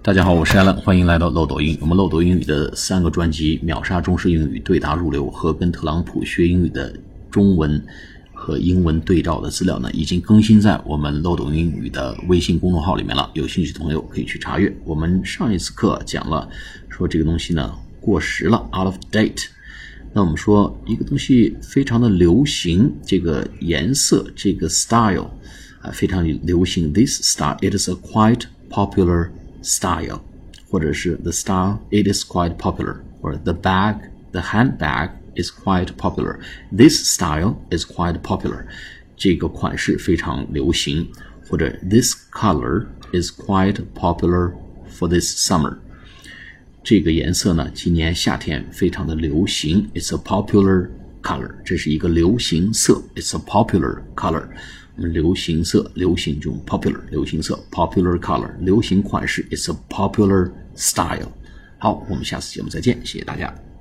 大家好，我是 Alan， 欢迎来到漏斗英语。我们漏斗英语的3个专辑，秒杀中式英语，对答入流和跟特朗普学英语的中文和英文对照的资料呢，已经更新在我们漏斗英语的微信公众号里面了，有兴趣的朋友可以去查阅。我们上一次课讲了说这个东西呢过时了 out of date， 那我们说一个东西非常的流行，这个颜色这个 style 非常流行， this style it is a quite popular style， 或者是 the style it is quite popular， 或者 the handbag is quite popular， this style is quite popular， 这个款式非常流行，或者 this color is quite popular for this summer， 这个颜色呢今年夏天非常的流行， it's a popular color， 这是一个流行色， it's a popular color，流行色，流行中 popular， 流行色 popular color， 流行款式 it's a popular style。 好，我们下次节目再见，谢谢大家。